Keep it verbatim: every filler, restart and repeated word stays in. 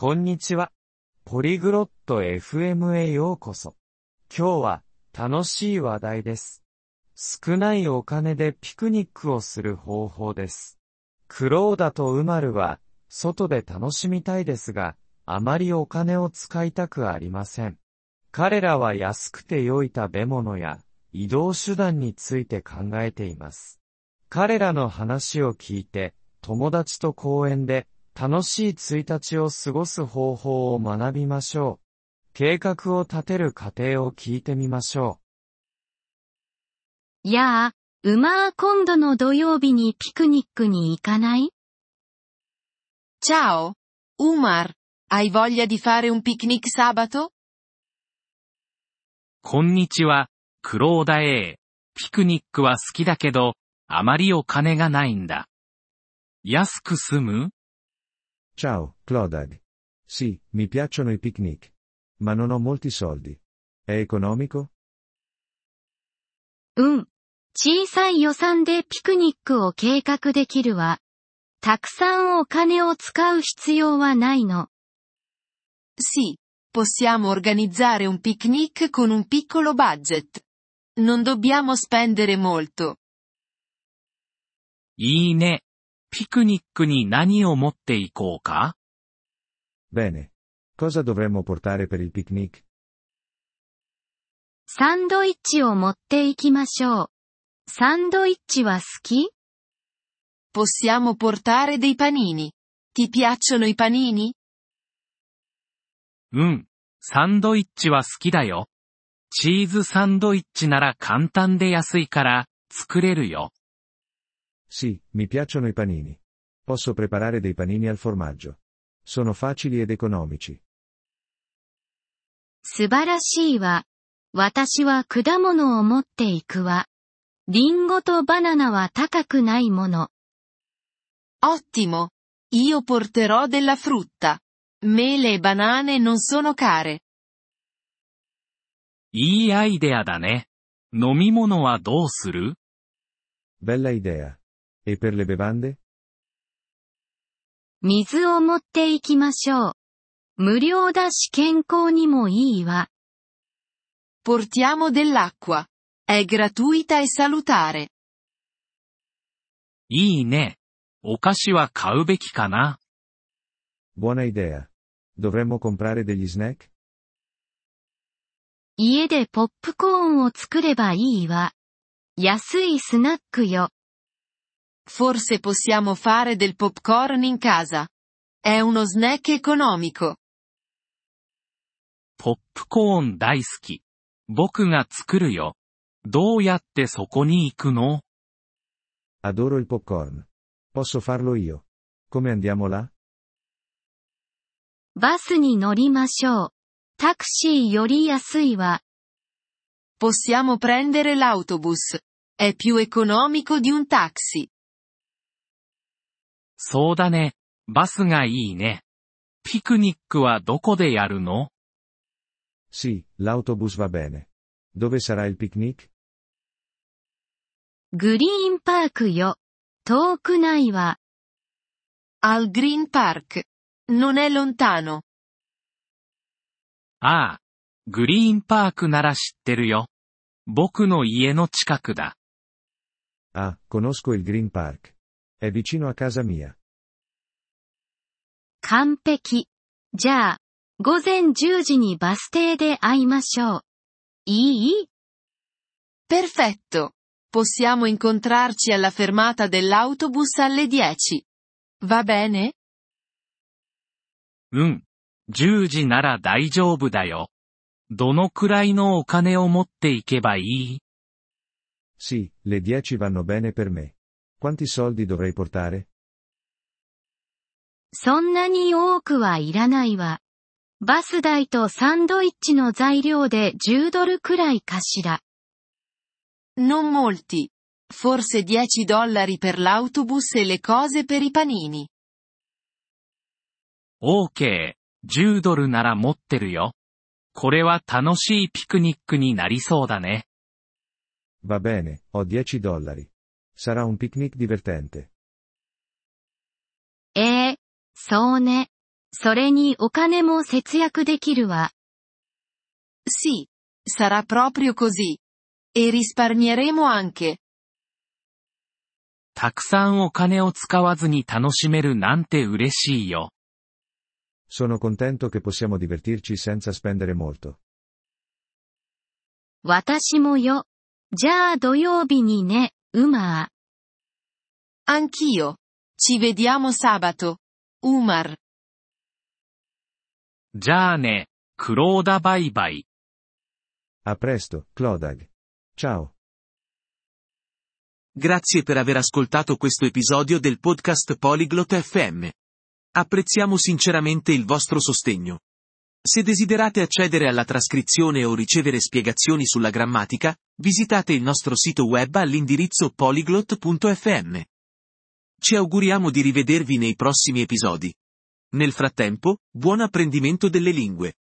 こんにちは。ポリグロット エフエム へようこそ。今日は楽しい話題です。少ないお金でピクニックをする方法です。クローダとウマルは外で楽しみたいですが、あまりお金を使いたくありません。彼らは安くて良い食べ物や移動手段について考えています。彼らの話を聞いて、友達と公園で楽しいいついたちを過ごす方法を学びましょう。計画を立てる過程を聞いてみましょう。やあ、ウマー今度の土曜日にピクニックに行かない？ Ciao, Umar, hai voglia di fare un picnic sabato? こんにちは、クローダ A。ピクニックは好きだけど、あまりお金がないんだ。安く済む？ Ciao, Clodagh. Sì, mi piacciono i picnic. Ma non ho molti soldi. È economico? うん。小さい予算でピクニックを計画できるわ。たくさんお金を使う必要はないの。 Sì, possiamo organizzare un picnic con un piccolo budget. Non dobbiamo spendere molto. いいね。ピクニックに何を持っていこうか？ Bene. Cosa dovremmo portare per il picnic? サンドイッチを持っていきましょう。サンドイッチは好き？ Possiamo portare dei panini. Ti piacciono i panini? うん。サンドイッチは好きだよ。チーズサンドイッチなら簡単で安いから作れるよ。 Sì, mi piacciono i panini. Posso preparare dei panini al formaggio. Sono facili ed economici. 素晴らしいわ。私は果物を持っていくわ。リンゴとバナナは高くないもの。 Ottimo. Io porterò della frutta. Mele e banane non sono care. いいアイデアだね。飲み物はどうする？ Bella idea. E per le bevande? 水を持っていきましょう。無料だし健康にもいいわ。 Portiamo dell'acqua. È gratuita e salutare. いいね。お菓子は買うべきかな。 Buona idea. Dovremmo comprare degli snack? 家でポップコーンを作ればいいわ。安いスナックよ。 Forse possiamo fare del popcorn in casa. È uno snack economico. ポップコーン大好き。僕が作るよ。どうやってそこに行くの？ Adoro il popcorn. Posso farlo io. Come andiamo là? バスに乗りましょう。タクシーより安いわ。 Possiamo prendere l'autobus. È più economico di un taxi. そうだね。バスがいいね。ピクニックはどこでやるの？ Sì, l'autobus va bene. Dove sarà il picnic? グリーンパークよ。遠くないわ。 Al Green Park. Non è lontano. ああ。グリーンパークなら知ってるよ。僕の家の近くだ。 Ah, conosco il Green Park. È vicino a casa mia. 完璧。じゃあ、午前じゅうじにバス停で会いましょう。いい？ Perfetto. Possiamo incontrarci alla fermata dell'autobus alle dieci. Va bene? うん。じゅうじなら大丈夫だよ。どのくらいのお金を持っていけばいい？ Sì, le dieci vanno bene per me. Quanti soldi dovrei portare? そんなに多くはいらないわ。バス代とサンドイッチの材料でじゅうドルくらいかしら。 Non molti. Forse dieci dollari per l'autobus e le cose per i panini. オーケー。じゅうドルなら持ってるよ。これは楽しいピクニックになりそうだね。 Va bene, ho dieci dollari. Sarà un picnic divertente. ええ、そうね。 それにお金も節約できるわ。 Sì, sarà proprio così. E risparmieremo anche. たくさんお金を使わずに楽しめるなんて嬉しいよ。 Sono contento che possiamo divertirci senza spendere molto. 私もよ。じゃあ土曜日にね、ウマー。 Anch'io. Ci vediamo sabato. Umar. じゃあね、クローダバイバイ。 A presto, Clodag. Ciao. Grazie per aver ascoltato questo episodio del podcast Polyglot F M. Apprezziamo sinceramente il vostro sostegno. Se desiderate accedere alla trascrizione o ricevere spiegazioni sulla grammatica, visitate il nostro sito web all'indirizzo polyglot punto f m. Ci auguriamo di rivedervi nei prossimi episodi. Nel frattempo, buon apprendimento delle lingue.